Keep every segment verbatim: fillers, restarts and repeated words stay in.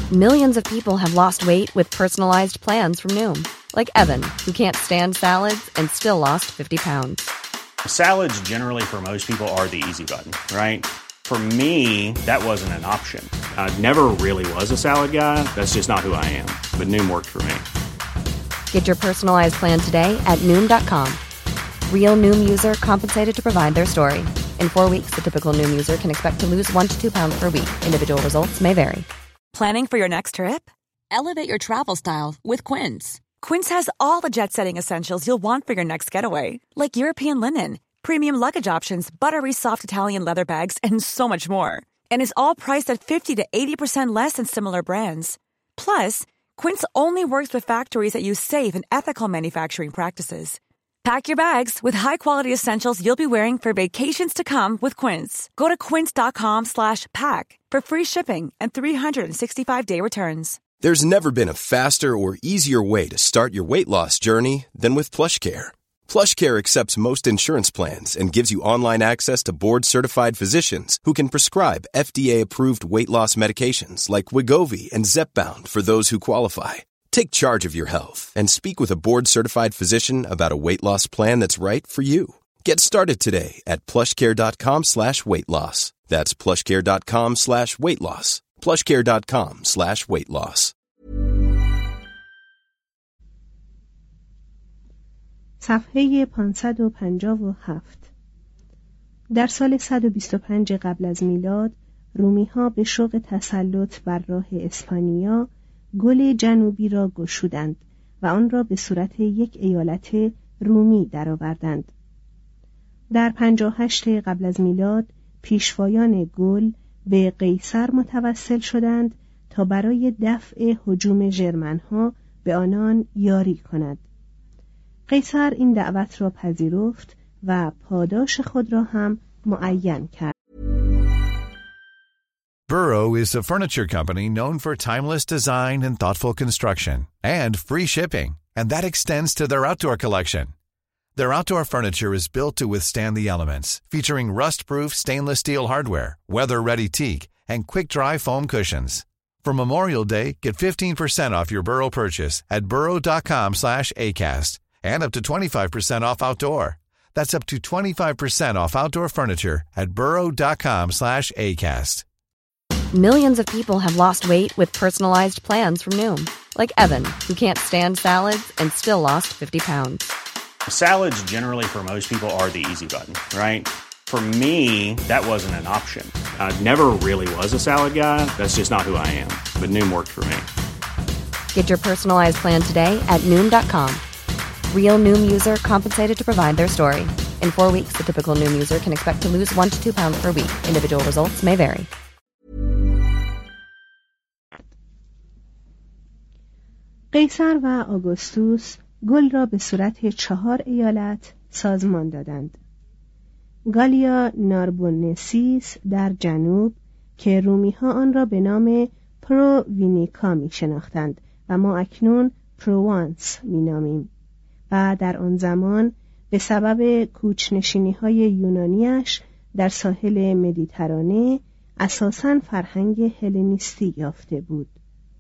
Millions of people have lost weight with personalized plans from Noom. Like Evan, who can't stand salads and still lost fifty pounds. Salads generally for most people are the easy button, right? For me, that wasn't an option. I never really was a salad guy. That's just not who I am. But Noom worked for me. Get your personalized plan today at Noom dot com. Real Noom user compensated to provide their story. In four weeks, the typical Noom user can expect to lose one to two pounds per week. Individual results may vary. Planning for your next trip? Elevate your travel style with Quince. Quince has all the jet-setting essentials you'll want for your next getaway, like European linen, premium luggage options, buttery soft Italian leather bags, and so much more. And is all priced at fifty to eighty percent less than similar brands. Plus, Quince only works with factories that use safe and ethical manufacturing practices. Pack your bags with high-quality essentials you'll be wearing for vacations to come with Quince. Go to quince dot com slash pack for free shipping and three sixty-five day returns. There's never been a faster or easier way to start your weight loss journey than with PlushCare. PlushCare accepts most insurance plans and gives you online access to board-certified physicians who can prescribe F D A-approved weight loss medications like Wegovy and Zepbound for those who qualify. Take charge of your health and speak with a board-certified physician about a weight loss plan that's right for you. Get started today at plushcare.com slash weight loss. That's plushcare.com slash weight loss. plushcare.com slash weight loss. صفحه پانصد و پنجاه و هفت. در سال صد و بیست و پنج قبل از میلاد، رومی‌ها به شوق تسلط بر راه اسپانیا گل جنوبی را گشودند و آن را به صورت یک ایالت رومی درآوردند. در پنجاه و هشت قبل از میلاد پیشوایان گل به قیصر متوسل شدند تا برای دفع هجوم ژرمن‌ها به آنان یاری کند. قیصر این دعوت را پذیرفت و پاداش خود را هم معین کرد. Burrow is a furniture company known for timeless design and thoughtful construction, and free shipping, and that extends to their outdoor collection. Their outdoor furniture is built to withstand the elements, featuring rust-proof stainless steel hardware, weather-ready teak, and quick-dry foam cushions. For Memorial Day, get fifteen percent off your Burrow purchase at burrow.com slash ACAST, and up to twenty-five percent off outdoor. That's up to twenty-five percent off outdoor furniture at burrow.com slash ACAST. Millions of people have lost weight with personalized plans from Noom. Like Evan, who can't stand salads and still lost fifty pounds. Salads generally for most people are the easy button, right? For me, that wasn't an option. I never really was a salad guy. That's just not who I am. But Noom worked for me. Get your personalized plan today at Noom dot com. Real Noom user compensated to provide their story. In four weeks, the typical Noom user can expect to lose one to two pounds per week. Individual results may vary. قیصر و آگوستوس گل را به صورت چهار ایالت سازمان دادند. گالیا ناربوننسیس در جنوب که رومی‌ها آن را به نام پرووینیکا می شناختند و ما اکنون پروانس می نامیم و در آن زمان به سبب کوچ‌نشینی‌های یونانیش در ساحل مدیترانه اساساً فرهنگ هلنیستی یافته بود.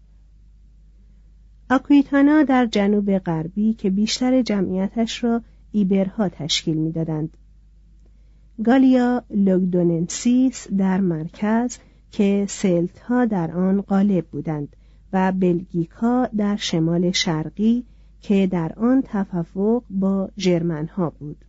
آکویتانا در جنوب غربی که بیشتر جمعیتش را ایبرها تشکیل می‌دادند. گالیا لوگدوننسیس در مرکز که سلت‌ها در آن غالب بودند و بلگیکا در شمال شرقی که در آن تفوق با ژرمن‌ها بود.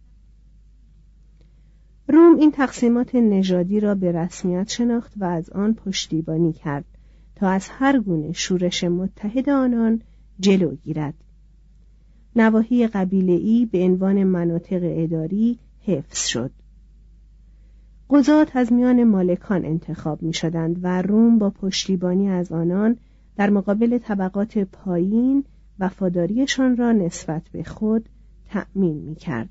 روم این تقسیمات نژادی را به رسمیت شناخت و از آن پشتیبانی کرد تا از هر گونه شورش متحد آنان جلو گیرد. نواحی قبیله‌ای به عنوان مناطق اداری حفظ شد. قضات از میان مالکان انتخاب می شدند و روم با پشتیبانی از آنان در مقابل طبقات پایین وفاداریشان را نسبت به خود تأمین می کرد.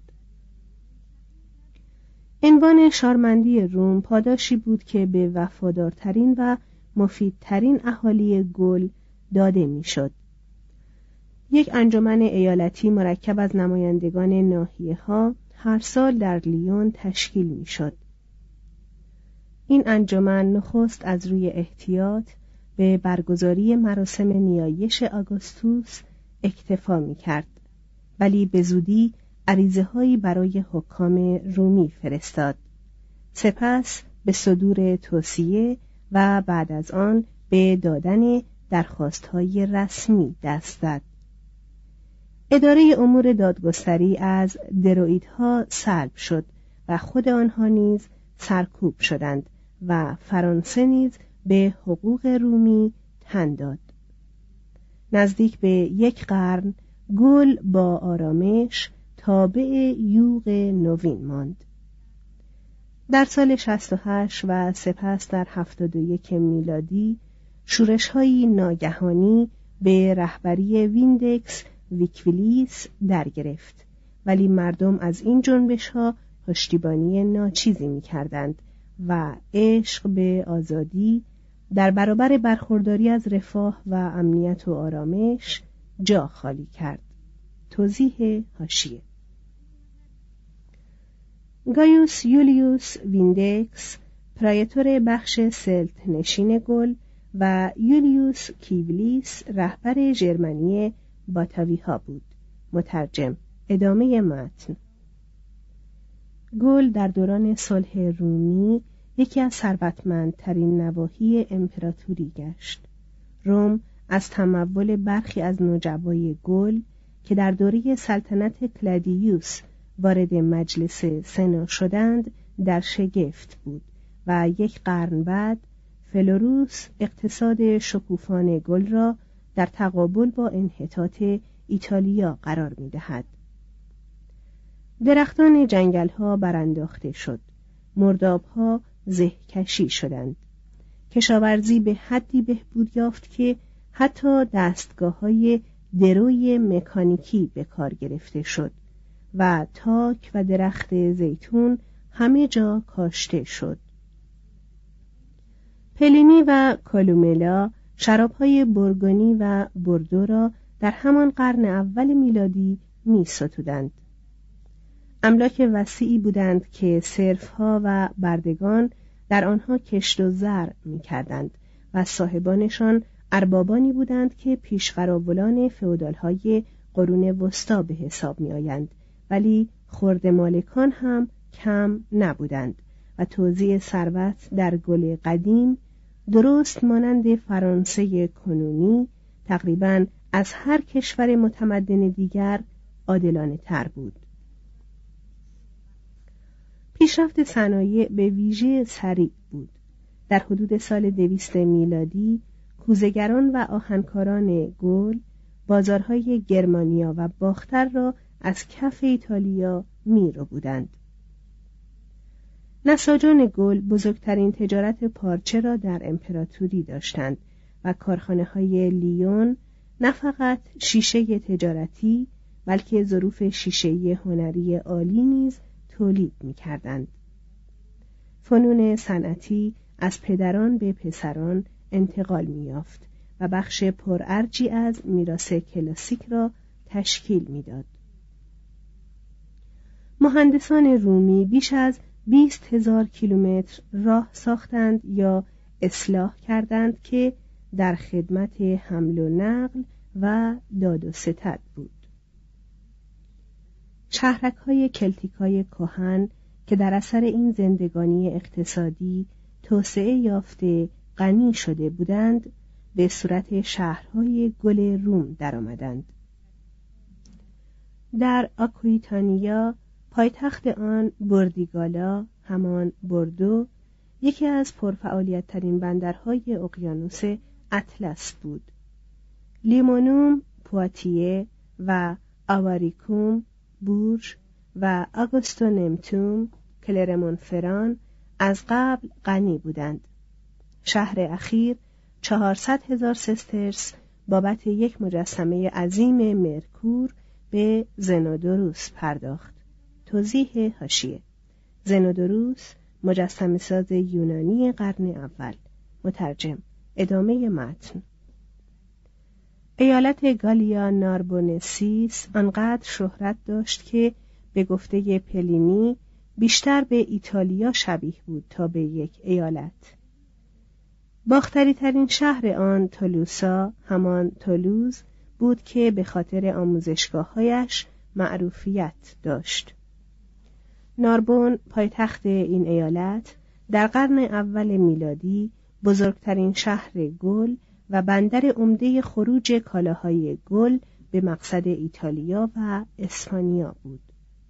عنوان شارمندی روم پاداشی بود که به وفادارترین و مفیدترین اهالی گل داده می شد. یک انجمن ایالتی مرکب از نمایندگان ناحیه‌ها هر سال در لیون تشکیل می شد. این انجمن نخست از روی احتیاط به برگزاری مراسم نیایش آگوستوس اکتفا می کرد، ولی به زودی عریضه هایی برای حکام رومی فرستاد. سپس به صدور توصیه و بعد از آن به دادن درخواست‌های رسمی دست زد. اداره امور دادگستری از درویدها سلب شد و خود آنها نیز سرکوب شدند و فرانسه نیز به حقوق رومی تن داد. نزدیک به یک قرن گل با آرامش تابع یوغ نوین ماند. در سال شصت و هشت و سپس در هفتاد و یک میلادی شورش‌هایی ناگهانی به رهبری ویندکس ویکویلیس در گرفت، ولی مردم از این جنبش‌ها پشتیبانی ناچیزی می‌کردند و عشق به آزادی در برابر برخورداری از رفاه و امنیت و آرامش جا خالی کرد. توضیح حاشیه: گایوس یولیوس ویندکس پرایتور بخش سلت نشین گل و یولیوس کیولیس رهبر ژرمنی باتاوی ها بود. مترجم. ادامه متن. گل در دوران صلح رومی یکی از ثروتمندترین نواحی امپراتوری گشت. روم از تمول برخی از نجوای گل که در دوره سلطنت کلادیوس وارد مجلس سنا شدند در شگفت بود و یک قرن بعد فلوروس اقتصاد شکوفان گل را در تقابل با انحطاط ایتالیا قرار می‌دهد. درختان جنگل‌ها برانداخته شد، مرداب‌ها زهکشی شدند. کشاورزی به حدی بهبود یافت که حتی دستگاه‌های دروی مکانیکی به کار گرفته شد و تاک و درخت زیتون همه جا کاشته شد. پلینی و کالوملا شراب‌های بورگونی و بوردو را در همان قرن اول میلادی می‌ستودند. املاک وسیعی بودند که صرف‌ها و بردگان در آنها کشت و زرع می‌کردند و صاحبانشان اربابانی بودند که پیشقراولان فئودال‌های قرون وسطی به حساب می‌آیند، ولی خرد مالکان هم کم نبودند و توزیع ثروت در گل قدیم درست مانند فرانسه کنونی تقریباً از هر کشور متمدن دیگر عادلانه تر بود. پیشرفت صنایع به ویژه سریع بود. در حدود سال دویست میلادی کوزه‌گران و آهنکاران گل بازارهای گرمانیا و باختر را از کف ایتالیا می‌رو بودند. نساجان گل بزرگترین تجارت پارچه را در امپراتوری داشتند و کارخانه‌های لیون نه فقط شیشه تجارتی بلکه ظروف شیشه‌ای هنری عالی نیز تولید می‌کردند. فنون صنعتی از پدران به پسران انتقال می‌یافت و بخش پرارجی از میراث کلاسیک را تشکیل می‌داد. مهندسان رومی بیش از بیست هزار کیلومتر راه ساختند یا اصلاح کردند که در خدمت حمل و نقل و داد و ستد بود. شهرک‌های کلتیکای کهن که در اثر این زندگانی اقتصادی توسعه یافته غنی شده بودند، به صورت شهرهای گل روم درآمدند. در آکویتانیا پایتخت آن بوردیگالا، همان بوردو، یکی از پرفعالیت‌ترین بندرهای اقیانوس اطلس بود. لیمونوم، پواتیه و آواریکوم، بورژ و آگوستونمتوم، کلرمونفران از قبل غنی بودند. شهر اخیر چهارصد هزار سسترس بابت یک مجسمه عظیم مرکور به زنودوروس پرداخت. توضیح حاشیه: زنودوروس مجسمه ساز یونانی قرن اول. مترجم. ادامه متن. ایالت گالیا ناربونسیس آنقدر شهرت داشت که به گفته پلینی بیشتر به ایتالیا شبیه بود تا به یک ایالت. باختری ترین شهر آن تولوسا، همان تولوز بود که به خاطر آموزشگاه‌هایش معروفیت داشت. ناربون، پایتخت این ایالت، در قرن اول میلادی بزرگترین شهر گل و بندر عمده خروج کالاهای گل به مقصد ایتالیا و اسپانیا بود.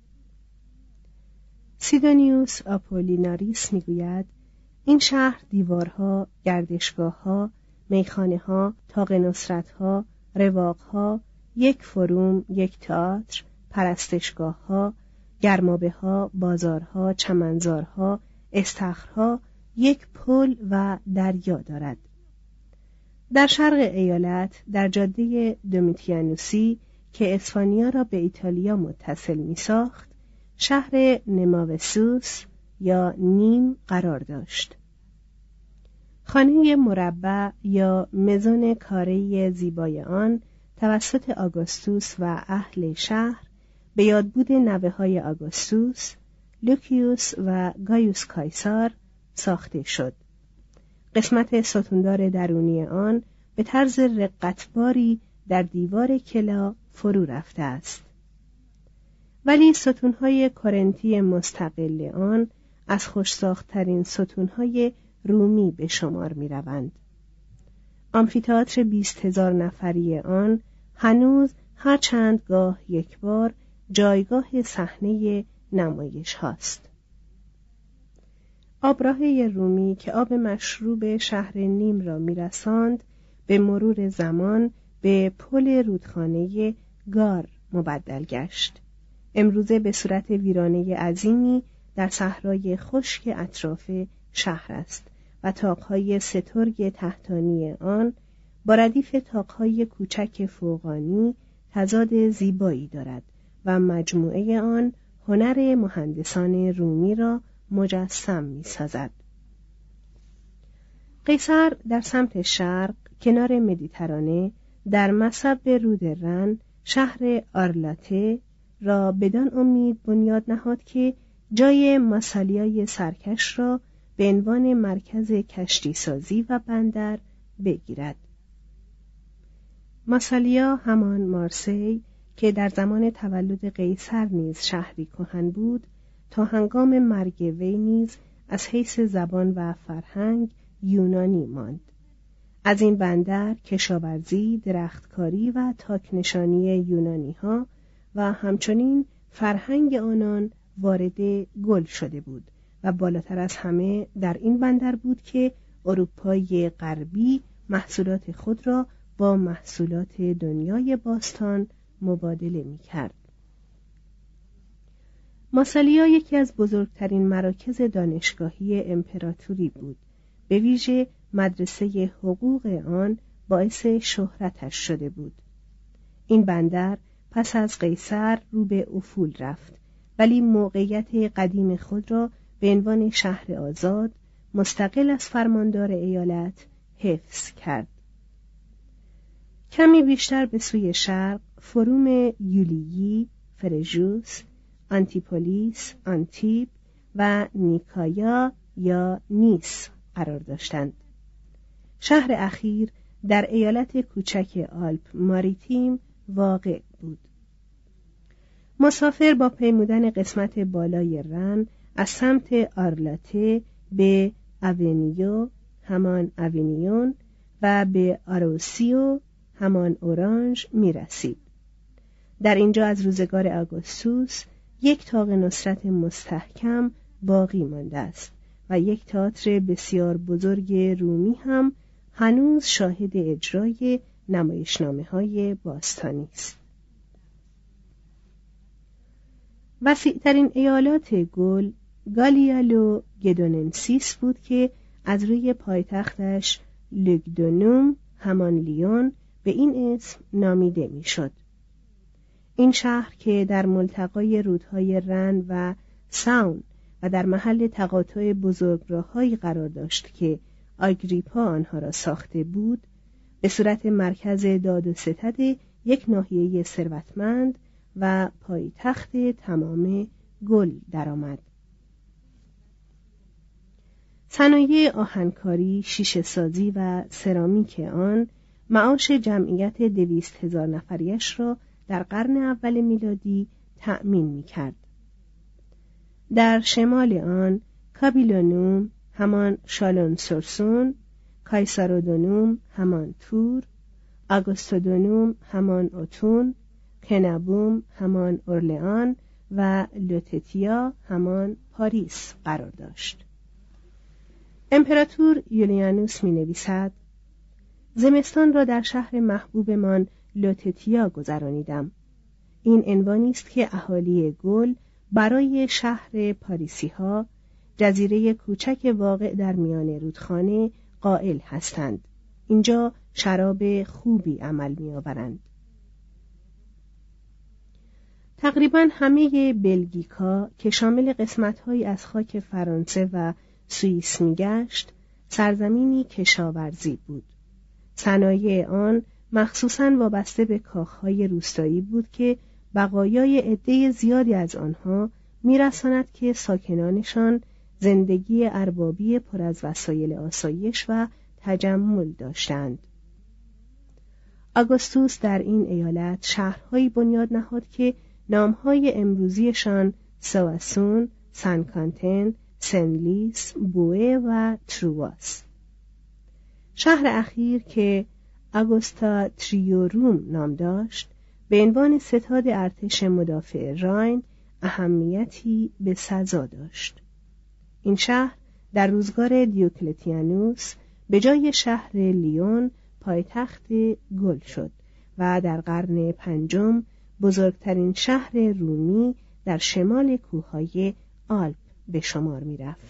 سیدونیوس آپولیناریس میگوید این شهر دیوارها، گردشگاهها، میخانه‌ها، طاق نصرت‌ها، رواقها، یک فروم، یک تئاتر، پرستشگاه‌ها، گرمابه‌ها، بازارها، چمنزارها، استخرها، یک پل و دریا دارد. در شرق ایالت، در جاده دومیتیانوسی که اسپانیا را به ایتالیا متصل می‌ساخت، شهر نماوسوس یا نیم قرار داشت. خانه مربع یا مزون کاره‌ای زیبای آن توسط آگوستوس و اهل شهر به یادبود نوه‌های آگوستوس، لوکیوس و گایوس کایسار ساخته شد. قسمت ستوندار درونی آن به طرز رقتباری در دیوار کلا فرو رفته است. ولی ستونهای کرنتی مستقل آن از خوش‌ساخت‌ترین ستونهای رومی به شمار می‌روند. آمفی‌تئاتر بیست هزار نفری آن هنوز هر چند گاه یک بار جایگاه صحنه نمایش هاست. آبراهه رومی که آب مشروب شهر نیم را می‌رساند، به مرور زمان به پل رودخانه گار مبدل گشت. امروزه به صورت ویرانه عظیمی در صحرای خشک اطراف شهر است و طاقهای سترگ تحتانی آن با ردیف طاقهای کوچک فوقانی تضاد زیبایی دارد و مجموعه آن هنر مهندسان رومی را مجسم می سازد. قیصر در سمت شرق کنار مدیترانه در مصب رود رن شهر آرلاته را بدان امید بنیاد نهاد که جای ماسالیای سرکش را به عنوان مرکز کشتی سازی و بندر بگیرد. ماسالیا همان مارسی که در زمان تولد قیصر نیز شهری کهن بود، تا هنگام مرگ وی نیز از حیث زبان و فرهنگ یونانی ماند. از این بندر کشاورزی، درختکاری و تاکنشانی یونانی ها و همچنین فرهنگ آنان وارد گل شده بود و بالاتر از همه در این بندر بود که اروپای غربی محصولات خود را با محصولات دنیای باستان مبادله می کرد. ماسالیا یکی از بزرگترین مراکز دانشگاهی امپراتوری بود. به ویژه مدرسه حقوق آن باعث شهرتش شده بود. این بندر پس از قیصر رو به افول رفت، ولی موقعیت قدیم خود را به عنوان شهر آزاد مستقل از فرماندار ایالت حفظ کرد. کمی بیشتر به سوی شرق فروم یولیی، فرژوس، آنتیپولیس، آنتیب و نیکایا یا نیس قرار داشتند. شهر اخیر در ایالت کوچک آلپ ماریتیم واقع بود. مسافر با پیمودن قسمت بالای رن از سمت آرلاته به اونیو همان اونیون و به آروسیو همان اورانژ می رسید. در اینجا از روزگار آگوستوس یک طاق نصرت مستحکم باقی مانده است و یک تئاتر بسیار بزرگ رومی هم هنوز شاهد اجرای نمایشنامه‌های باستانی است. وسیع‌ترین ایالات گل گالیالو گدوننسیس بود که از روی پایتختش لوگدونوم همان لیون به این اسم نامیده میشد. این شهر که در ملتقای رودهای رن و ساون و در محل تقاطع بزرگراه‌هایی قرار داشت که آگریپا آنها را ساخته بود، به صورت مرکز داد و ستد یک ناحیه ثروتمند و پایتخت تمام گل درآمد. صنایع آهنکاری، شیشه سازی و سرامیک آن معاش جمعیت دویست هزار نفریش را در قرن اول میلادی تأمین می کرد. در شمال آن کابیلونوم همان شالون سورسون، کایسارودونوم همان تور، آگوستودونوم همان اوتون، کنابوم همان اورلئان و لوتتیا همان پاریس قرار داشت. امپراتور یولیانوس می نویسد: زمستان را در شهر محبوبمان لوتتیا گذرانیدم. این عنوانی است که اهالی گل برای شهر پاریسی ها، جزیره کوچک واقع در میان رودخانه، قائل هستند. اینجا شراب خوبی عمل می آورند. تقریباً همه بلژیکا که شامل قسمت‌هایی از خاک فرانسه و سوئیس می‌گشت، سرزمینی کشاورزی بود. صنایع آن مخصوصاً وابسته به کاخهای روستایی بود که بقایای عده زیادی از آنها می‌رساند که ساکنانشان زندگی اربابی پر از وسایل آسایش و تجمل داشتند. آگوستوس در این ایالت شهرهایی بنیاد نهاد که نامهای امروزیشان سواسون، سنکانتن، سنلیس، بوئه و ترواس. شهر اخیر که آگوستا تریوروم نام داشت، به عنوان ستاد ارتش مدافع راین اهمیتی به سزا داشت. این شهر در روزگار دیوکلتیانوس به جای شهر لیون پایتخت گل شد و در قرن پنجم بزرگترین شهر رومی در شمال کوههای آلپ به شمار می رفت.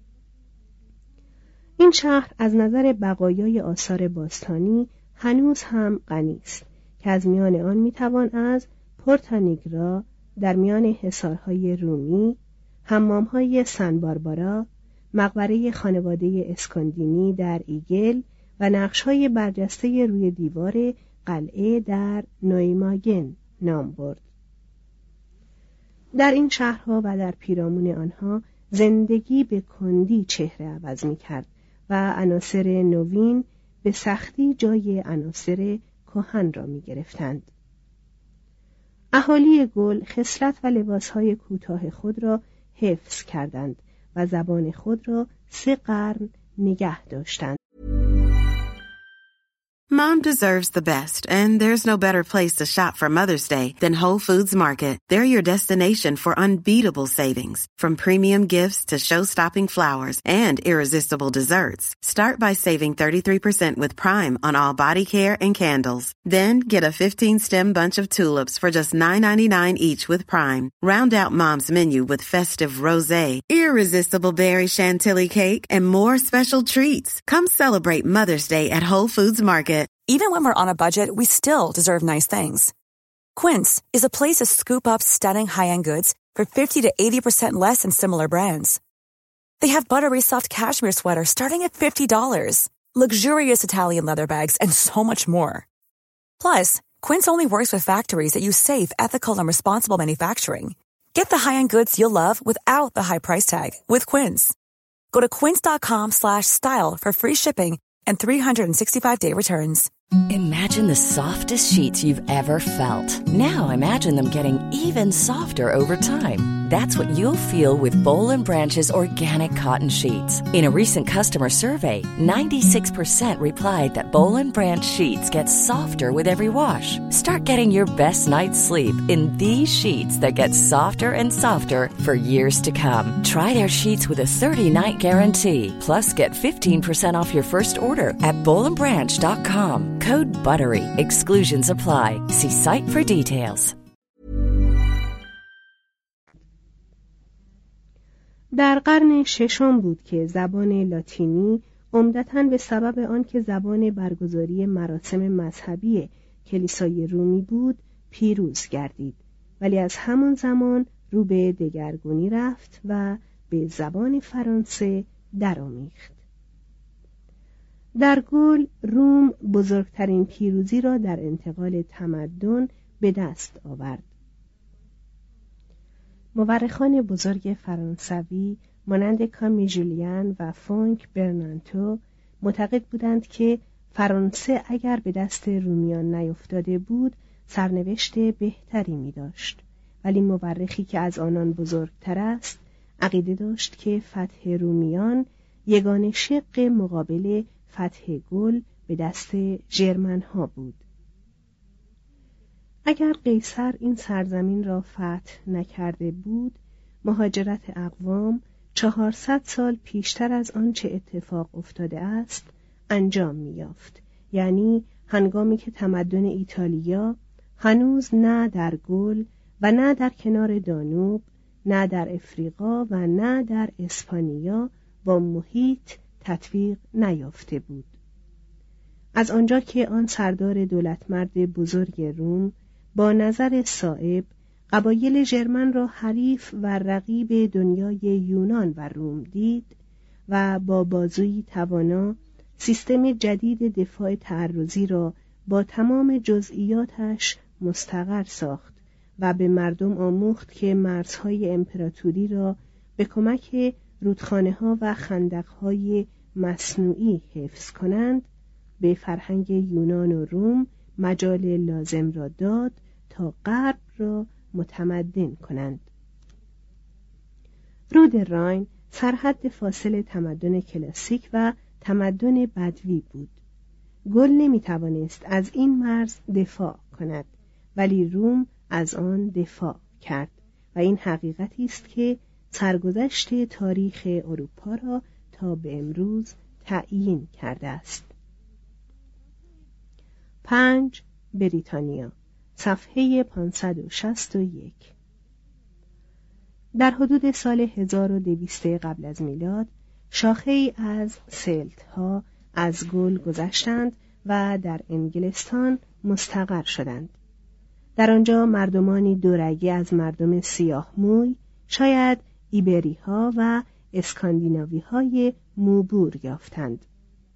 این شهر از نظر بقایای آثار باستانی هنوز هم غنی است که از میان آن می توان از پورتانیگرا در میان حصارهای رومی، حمامهای سن باربارا، مقبره خانواده اسکاندینی در ایگل و نقش‌های برجسته روی دیوار قلعه در نویماگن نام برد. در این شهرها و در پیرامون آنها زندگی به کندی چهره عوض می کرد و عناصر نوین به سختی جای عناصر کهن را می گرفتند. اهالی گل خصلت و لباسهای کوتاه خود را حفظ کردند و زبان خود را سه قرن نگه داشتند. Mom deserves the best, and there's no better place to shop for Mother's Day than Whole Foods Market. They're your destination for unbeatable savings, from premium gifts to show-stopping flowers and irresistible desserts. Start by saving thirty-three percent with Prime on all body care and candles. Then get a fifteen-stem bunch of tulips for just nine ninety-nine each with Prime. Round out Mom's menu with festive rosé, irresistible berry chantilly cake, and more special treats. Come celebrate Mother's Day at Whole Foods Market. Even when we're on a budget, we still deserve nice things. Quince is a place to scoop up stunning high-end goods for fifty to eighty percent less than similar brands. They have buttery soft cashmere sweaters starting at fifty dollars, luxurious Italian leather bags, and so much more. Plus, Quince only works with factories that use safe, ethical, and responsible manufacturing. Get the high-end goods you'll love without the high price tag with Quince. Go to quince.com slash style for free shipping and three hundred sixty-five day returns. Imagine the softest sheets you've ever felt. Now imagine them getting even softer over time. That's what you'll feel with Boll and Branch's organic cotton sheets. In a recent customer survey, ninety-six percent replied that Boll and Branch sheets get softer with every wash. Start getting your best night's sleep in these sheets that get softer and softer for years to come. Try their sheets with a thirty night guarantee. Plus, get fifteen percent off your first order at boll and branch dot com. Code BUTTERY. Exclusions apply. See site for details. در قرن ششم بود که زبان لاتینی عمدتاً به سبب آنکه زبان برگزاری مراسم مذهبی کلیسای رومی بود پیروز گردید، ولی از همان زمان رو به دگرگونی رفت و به زبان فرانسه درآمیخت. در گل روم بزرگترین پیروزی را در انتقال تمدن به دست آورد. مورخان بزرگ فرانسوی مانند کامی ژولیان و فونک برنانتو معتقد بودند که فرانسه اگر به دست رومیان نیفتاده بود سرنوشت بهتری می داشت، ولی مورخی که از آنان بزرگتر است عقیده داشت که فتح رومیان یگانه شق مقابل فتح گل به دست ژرمن ها بود. اگر قیصر این سرزمین را فتح نکرده بود، مهاجرت اقوام چهارصد سال پیشتر از آنچه اتفاق افتاده است انجام می‌یافت، یعنی هنگامی که تمدن ایتالیا هنوز نه در گل و نه در کنار دانوب، نه در افریقا و نه در اسپانیا با محیط تطبیق نیافته بود. از آنجا که آن سردار دولتمرد بزرگ روم با نظر صائب قبایل ژرمن را حریف و رقیب دنیای یونان و روم دید و با بازویی توانا سیستم جدید دفاع تعرضی را با تمام جزئیاتش مستقر ساخت و به مردم آموخت که مرزهای امپراتوری را به کمک رودخانه‌ها و خندق‌های مصنوعی حفظ کنند، به فرهنگ یونان و روم مجال لازم را داد تا غرب را متمدن کنند. رود راین سرحد فاصل تمدن کلاسیک و تمدن بدوی بود. گل نمی توانست از این مرز دفاع کند، ولی روم از آن دفاع کرد و این حقیقتی است که سرگذشت تاریخ اروپا را تا به امروز تعیین کرده است. پنج. بریتانیا، صفحه پانصد و شصت و یک. در حدود سال هزار و دویست قبل از میلاد شاخه‌ای از سلت‌ها از گل گذشتند و در انگلستان مستقر شدند. در آنجا مردمانی دورگه از مردم سیاه موی، شاید ایبری ها و اسکاندیناوی های موبور یافتند.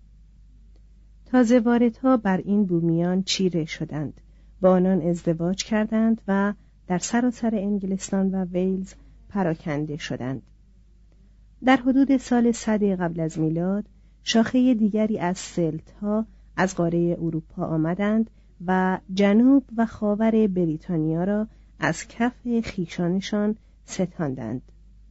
تازه واردها بر این بومیان چیره شدند، با آنان ازدواج کردند و در سراسر انگلستان و ویلز پراکنده شدند. در حدود سال صد قبل از میلاد شاخه دیگری از سلت‌ها از قاره اروپا آمدند و جنوب و خاور بریتانیا را از کف خیشانشان ستاندند.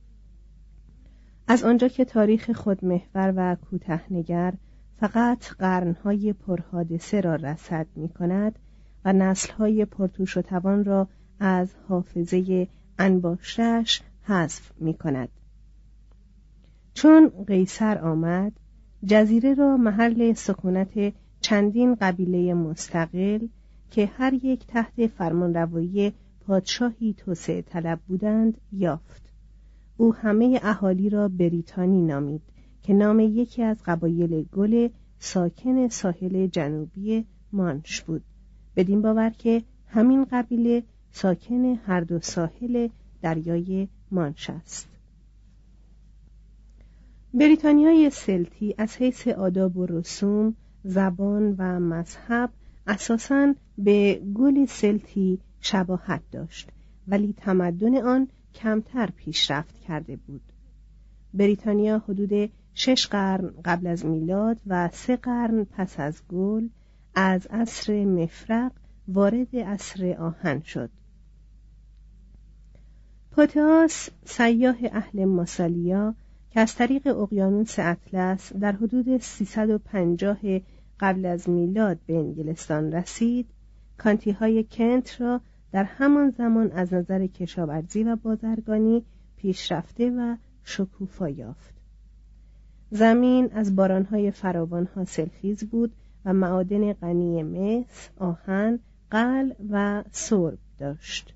از آنجا که تاریخ خودمحور و کوتاه‌نگر فقط قرن‌های پرحادثه را رصد می‌کند و نسل‌های پرتوش و توان را از حافظه انباشته‌اش حذف می‌کند. چون قیصر آمد، جزیره را محل سکونت چندین قبیله مستقل که هر یک تحت فرمانروایی پادشاهی توسعه طلب بودند یافت. او همه اهالی را بریتانی نامید که نام یکی از قبایل گل ساکن ساحل جنوبی مانش بود، بدین باور که همین قبیله ساکن هر دو ساحل دریای مانش است. بریتانیای سلتی از حیث آداب و رسوم، زبان و مذهب اساساً به گل سلتی شباهت داشت، ولی تمدن آن کمتر پیشرفت کرده بود. بریتانیا حدود شش قرن قبل از میلاد و سه قرن پس از گل از عصر مفرق وارد عصر آهن شد. پوتئاس، سیاح اهل ماسالیا که از طریق اقیانوس اطلس در حدود سیصد و پنجاه قبل از میلاد به انگلستان رسید، کانتی‌های کنت را در همان زمان از نظر کشاورزی و بازرگانی پیشرفته و شکوفا یافت. زمین از بارانهای فراوان حاصلخیز بود و معادن غنی مس، آهن، قل و سرب داشت.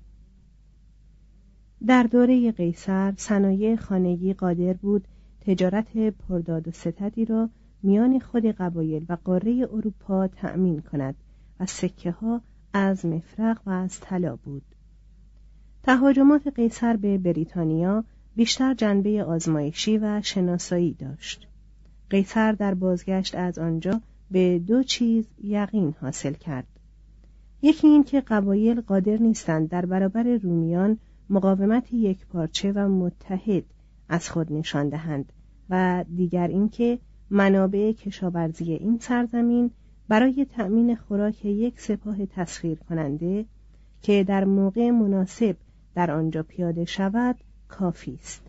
در دوره قیصر صنایع خانگی قادر بود تجارت پرداد و ستدی را میان خود قبایل و قاره اروپا تأمین کند و سکه ها از مفرق و از طلا بود. تهاجمات قیصر به بریتانیا بیشتر جنبه آزمایشی و شناسایی داشت. قیصر در بازگشت از آنجا به دو چیز یقین حاصل کرد. یکی این که قبایل قادر نیستند در برابر رومیان مقاومت یکپارچه و متحد از خود نشان دهند و دیگر اینکه منابع کشاورزی این سرزمین برای تأمین خوراک یک سپاه تسخیر کننده که در موقع مناسب در آنجا پیاده شود کافی است.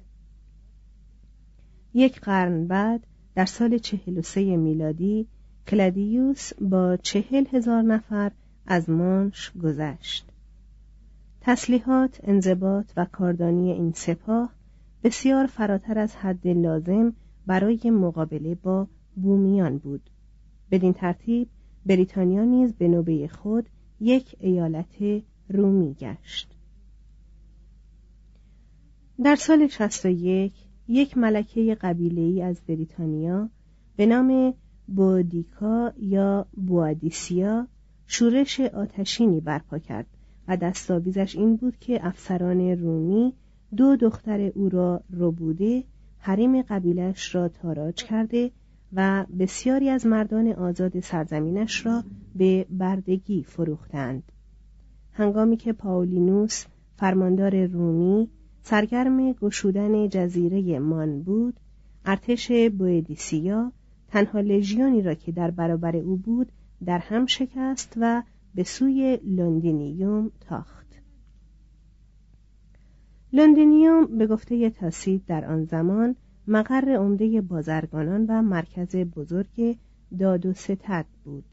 یک قرن بعد در سال چهل و سه میلادی کلادیوس با چهل هزار نفر از مانش گذشت. تسلیحات، انضباط و کاردانی این سپاه بسیار فراتر از حد لازم برای مقابله با بومیان بود. بدین ترتیب بریتانیا نیز به نوبه خود یک ایالت رومی گشت. در سال شصت و یک یک ملکه قبیله‌ای از بریتانیا به نام بودیکا یا بوادیسیا شورش آتشینی برپا کرد و دستاویزش این بود که افسران رومی دو دختر او را ربوده، حریم قبیلش را تاراج کرده و بسیاری از مردان آزاد سرزمینش را به بردگی فروختند. هنگامی که پاولینوس فرماندار رومی سرگرم گشودن جزیره مان بود، ارتش بوادیسیا تنها لژیونی را که در برابر او بود در هم شکست و به سوی لوندینیوم تاخت. لوندینیوم به گفته تاسید در آن زمان مقر عمده بازرگانان و مرکز بزرگ داد و ستد بود.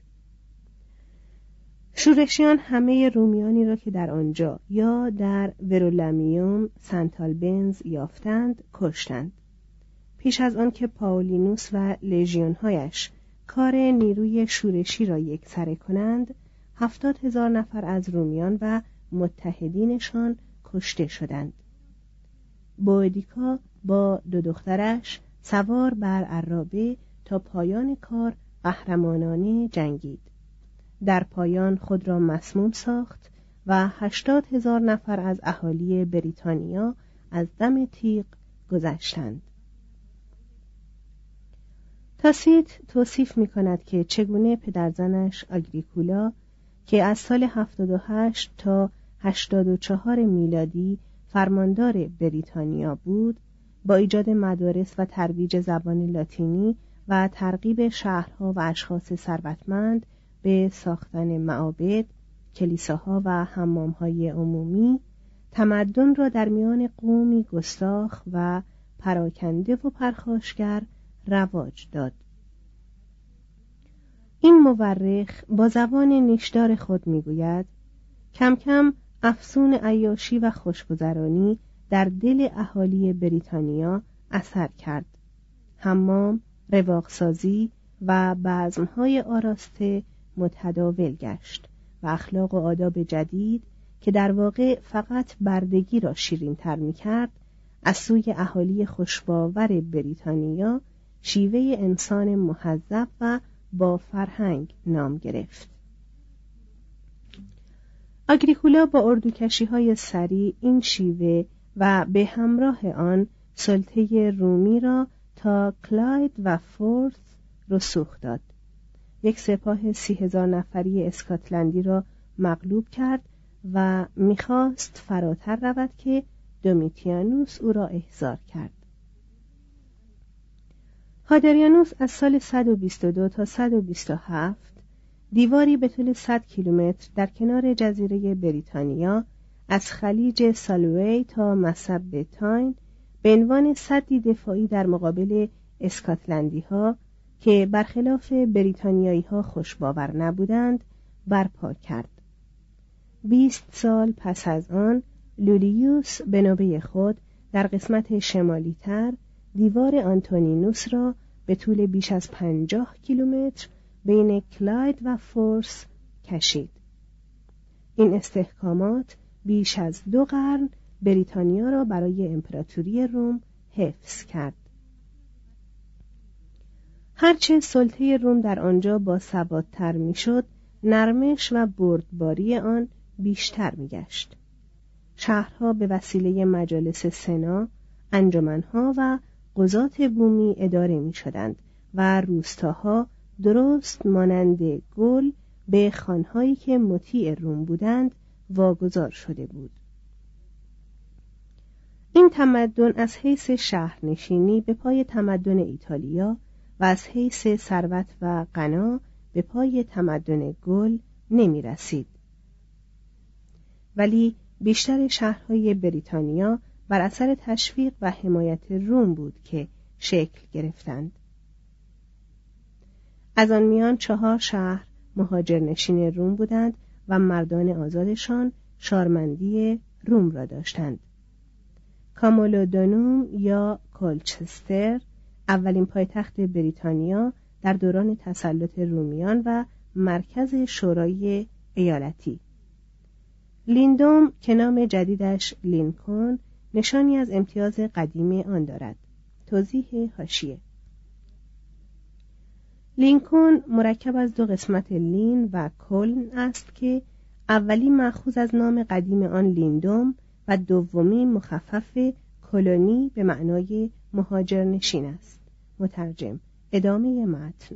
شورشیان همه رومیانی را که در آنجا یا در ورولمیوم سنت آلبنز یافتند کشتند. پیش از آن که پاولینوس و لژیون‌هایش کار نیروی شورشی را یکسره کنند، هفتاد هزار نفر از رومیان و متحدینشان کشته شدند. بودیکا با دو دخترش سوار بر عرابه تا پایان کار قهرمانانه جنگید. در پایان خود را مسموم ساخت و هشتاد هزار نفر از اهالی بریتانیا از دم تیغ گذشتند. تاسیت توصیف می کند که چگونه پدرزنش آگریکولا که از سال هفتاد و هشت تا هشتاد و چهار میلادی فرماندار بریتانیا بود، با ایجاد مدارس و ترویج زبان لاتینی و ترغیب شهرها و اشخاص ثروتمند به ساختن معابد، کلیساها و حمامهای عمومی، تمدن را در میان قومی گستاخ و پراکنده و پرخاشگر رواج داد. این مورخ با زبان نیشدار خود میگوید کم کم افسون عیاشی و خوشگذرانی در دل اهالی بریتانیا اثر کرد. حمام، رواقسازی و بزمهای آراسته متداول گشت و اخلاق و آداب جدید که در واقع فقط بردگی را شیرین تر می کرد، از سوی اهالی خوشباور بریتانیا شیوه انسان مهذب و با فرهنگ نام گرفت. آگریکولا با اردوکشی‌های سریع این شیوه و به همراه آن سلطه رومی را تا کلاید و فورث رسوخ داد. یک سپاه سی هزار نفری اسکاتلندی را مغلوب کرد و میخواست فراتر رود که دومیتیانوس او را احضار کرد. هادریانوس از سال صد و بیست و دو تا صد و بیست و هفت دیواری به طول صد کیلومتر در کنار جزیره بریتانیا از خلیج سالوی تا مصب تاین به عنوان سدی دفاعی در مقابل اسکاتلندی ها که برخلاف بریتانیایی ها خوشباور نبودند برپا کرد. بیست سال پس از آن لولیوس به نوبه خود در قسمت شمالی تر دیوار آنتونینوس را به طول بیش از پنجاه کیلومتر بین کلاید و فورس کشید. این استحکامات بیش از دو قرن بریتانیا را برای امپراتوری روم حفظ کرد. هرچه سلطه روم در آنجا با ثبات‌تر میشد، نرمش و بردباری آن بیشتر میگشت. شهرها به وسیله مجالس سنا، انجمنها و قضات بومی اداره می شدند و روستاها درست مانند گل به خانهایی که مطیع روم بودند واگذار شده بود. این تمدن از حیث شهرنشینی به پای تمدن ایتالیا و از حیث ثروت و غنا به پای تمدن گل نمی رسید. ولی بیشتر شهرهای بریتانیا بر اثر تشویق و حمایت روم بود که شکل گرفتند. از آن میان چهار شهر مهاجرنشین روم بودند و مردان آزادشان شارمندی روم را داشتند. کامولودونوم یا کولچستر اولین پایتخت بریتانیا در دوران تسلط رومیان و مرکز شورای ایالتی. لیندوم که نام جدیدش لینکن نشانی از امتیاز قدیمی آن دارد. توضیح حاشیه: لینکن مرکب از دو قسمت لین و کلن است که اولی مأخوذ از نام قدیم آن لیندوم و دومی مخفف کلونی به معنای مهاجرنشین است. مترجم. ادامه متن.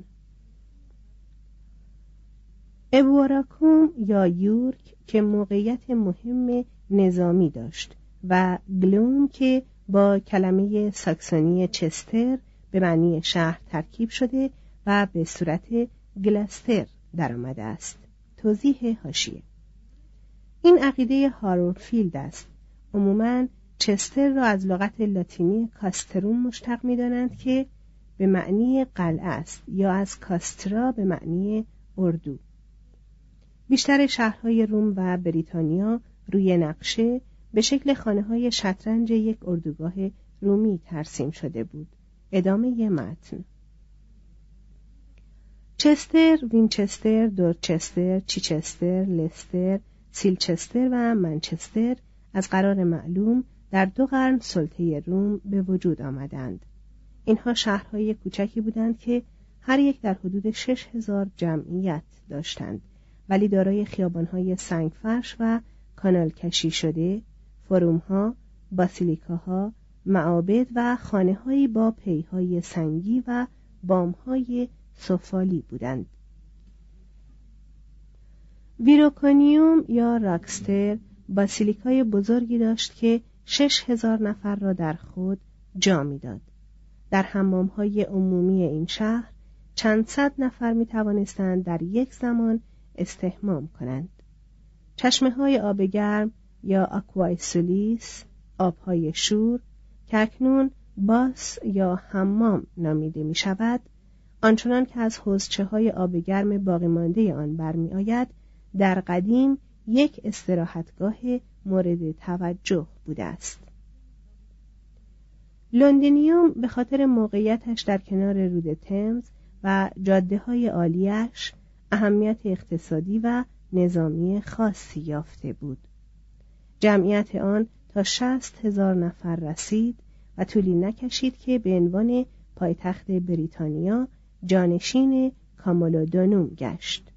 ابوراکوم یا یورک که موقعیت مهم نظامی داشت و گلوم که با کلمه ساکسونی چستر به معنی شهر ترکیب شده و به صورت گلستر در آمده است. توضیح حاشیه: این عقیده هارولفیلد است. عموماً چستر را از لغت لاتینی کاستروم مشتق می‌دانند که به معنی قلعه است یا از کاسترا به معنی اردو. بیشتر شهرهای روم و بریتانیا روی نقشه به شکل خانه‌های شطرنج یک اردوگاه رومی ترسیم شده بود. ادامه متن. چستر، وینچستر، دورچستر، چیچستر، لستر، سیلچستر و منچستر از قرار معلوم در دو قرن سلطه روم به وجود آمدند. اینها شهرهای کوچکی بودند که هر یک در حدود شش هزار جمعیت داشتند، ولی دارای خیابانهای سنگفرش و کانال کشی شده، فرومها، باسیلیکاها، معابد و خانه‌هایی با پیهای سنگی و بامهای سفالی بودند. ویروکونیوم یا راکستر باسیلیکای بزرگی داشت که شش هزار نفر را در خود جا می‌داد. در حمام‌های عمومی این شهر چند صد نفر می‌توانستند در یک زمان استحمام کنند. چشمه‌های آب گرم یا آکوای سولیس، آب‌های شور که اکنون باس یا حمام نامیده می‌شود، آنچنان که از حوضچه‌های آب گرم باقی مانده آن برمی آید، در قدیم یک استراحتگاه مورد توجه بوده است. لندنیوم به خاطر موقعیتش در کنار رود تمز و جاده‌های عالیش اهمیت اقتصادی و نظامی خاصی یافته بود. جمعیت آن تا شصت هزار نفر رسید و طولی نکشید که به عنوان پایتخت بریتانیا جانشین کامولودونوم گشت.